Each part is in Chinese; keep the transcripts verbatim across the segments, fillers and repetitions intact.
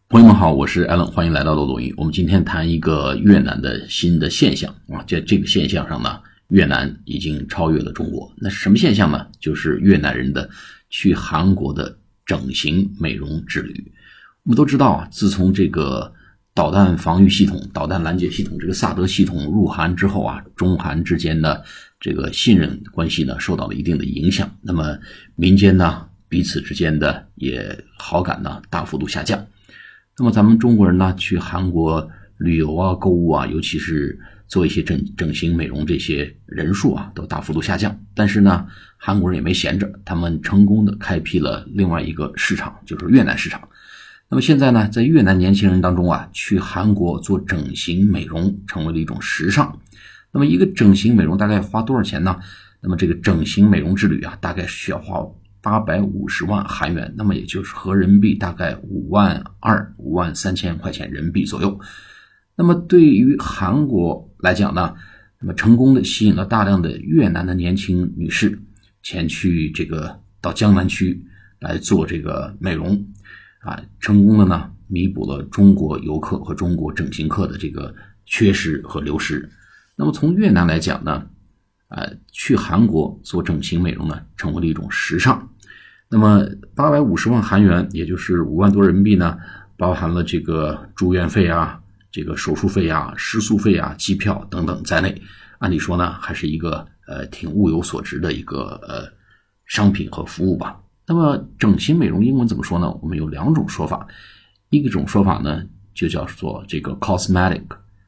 朋友们好，我是 Alan， 欢迎来到漏斗英。我们今天谈一个越南的新的现象啊，在这个现象上呢，越南已经超越了中国。那是什么现象呢？就是越南人的去韩国的整形美容之旅。我们都知道啊，自从这个导弹防御系统、导弹拦截系统这个萨德系统入韩之后啊，中韩之间的这个信任关系呢受到了一定的影响。那么民间呢彼此之间的也好感呢大幅度下降。那么咱们中国人呢去韩国旅游啊、购物啊，尤其是做一些整整形美容这些人数啊都大幅度下降。但是呢，韩国人也没闲着，他们成功的开辟了另外一个市场，就是越南市场。那么现在呢，在越南年轻人当中啊，去韩国做整形美容成为了一种时尚。那么一个整形美容大概花多少钱呢？那么这个整形美容之旅啊，大概需要花八百五十万韩元，那么也就是合人民币大概五万二、五万三千块钱人民币左右。那么对于韩国来讲呢，那么成功的吸引了大量的越南的年轻女士前去这个到江南区来做这个美容啊，成功的呢弥补了中国游客和中国整形客的这个缺失和流失。那么从越南来讲呢，呃，去韩国做整形美容呢成为了一种时尚。那么八百五十万韩元，也就是五万多人民币呢，包含了这个住院费啊、这个手术费啊、食宿费啊、机票等等在内。按理说呢，还是一个呃挺物有所值的一个呃商品和服务吧。那么整形美容英文怎么说呢？我们有两种说法，一种说法呢就叫做这个 cosmetic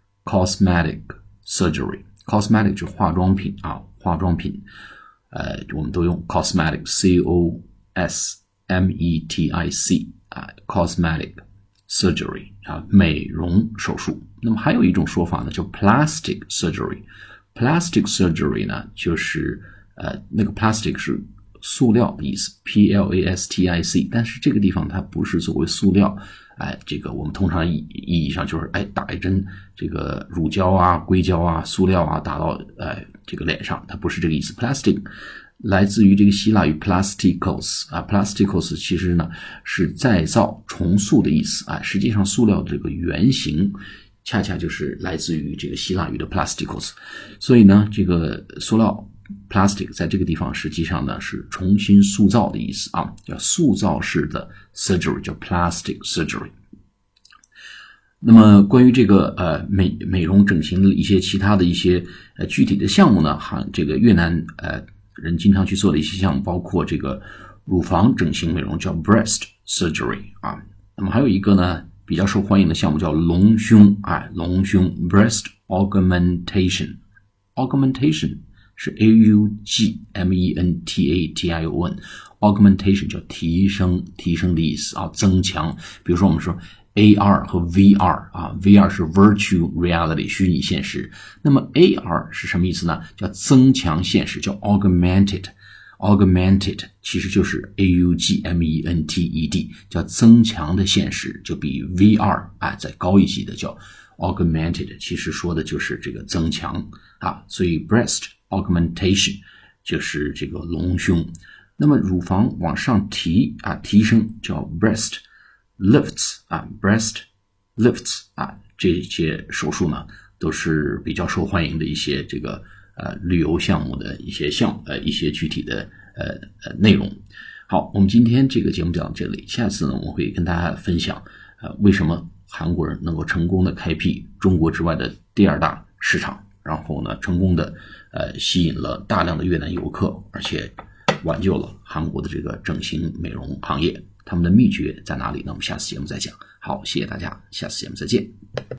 cosmetic surgery。cosmetic 是化妆品啊，化妆品，呃，我们都用 cosmetic C O S M E T I C 啊 ，cosmetic surgery 啊，美容手术。那么还有一种说法呢，叫 plastic surgery。plastic surgery 呢，就是呃，那个 plastic 是塑料的意思 ，P L A S T I C， 但是这个地方它不是作为塑料。哎，这个我们通常意意义上就是哎打一针这个乳胶啊、硅胶啊、塑料啊打到哎这个脸上，它不是这个意思。Plastic 来自于这个希腊语 plastikos 啊 ，plastikos 其实呢是再造、重塑的意思啊。实际上塑料这个原型恰恰就是来自于这个希腊语的 plastikos， 所以呢这个塑料plastic 在这个地方实际上呢是重新塑造的意思啊，叫塑造式的 surgery， 叫 plastic surgery。那么关于这个呃美美容整形的一些其他的一些呃具体的项目呢，哈，这个越南呃人经常去做的一些项目，包括这个乳房整形美容叫 breast surgery 啊。那么还有一个呢比较受欢迎的项目叫隆胸啊，隆胸 breast augmentation augmentation。是 A U G M E N T A T I O N augmentation 叫提升提升的意思啊，增强。比如说我们说 A R 和 V R 啊 ，V R 是 virtual reality 虚拟现实，那么 A R 是什么意思呢？叫增强现实，叫 augmented augmented 其实就是 A U G M E N T E D 叫增强的现实，就比 V R 啊再高一级的叫 augmented， 其实说的就是这个增强啊，所以 breast augmentation 就是这个隆胸。那么乳房往上提啊，提升叫 breast lifts 啊 breast lifts 啊，这些手术呢都是比较受欢迎的一些这个呃旅游项目的一些项呃一些具体的呃呃内容。好，我们今天这个节目讲到这里，下次呢我们会跟大家分享呃为什么韩国人能够成功的开辟中国之外的第二大市场，然后呢成功的呃吸引了大量的越南游客，而且挽救了韩国的这个整形美容行业。他们的秘诀在哪里呢？我们下次节目再讲。好，谢谢大家，下次节目再见。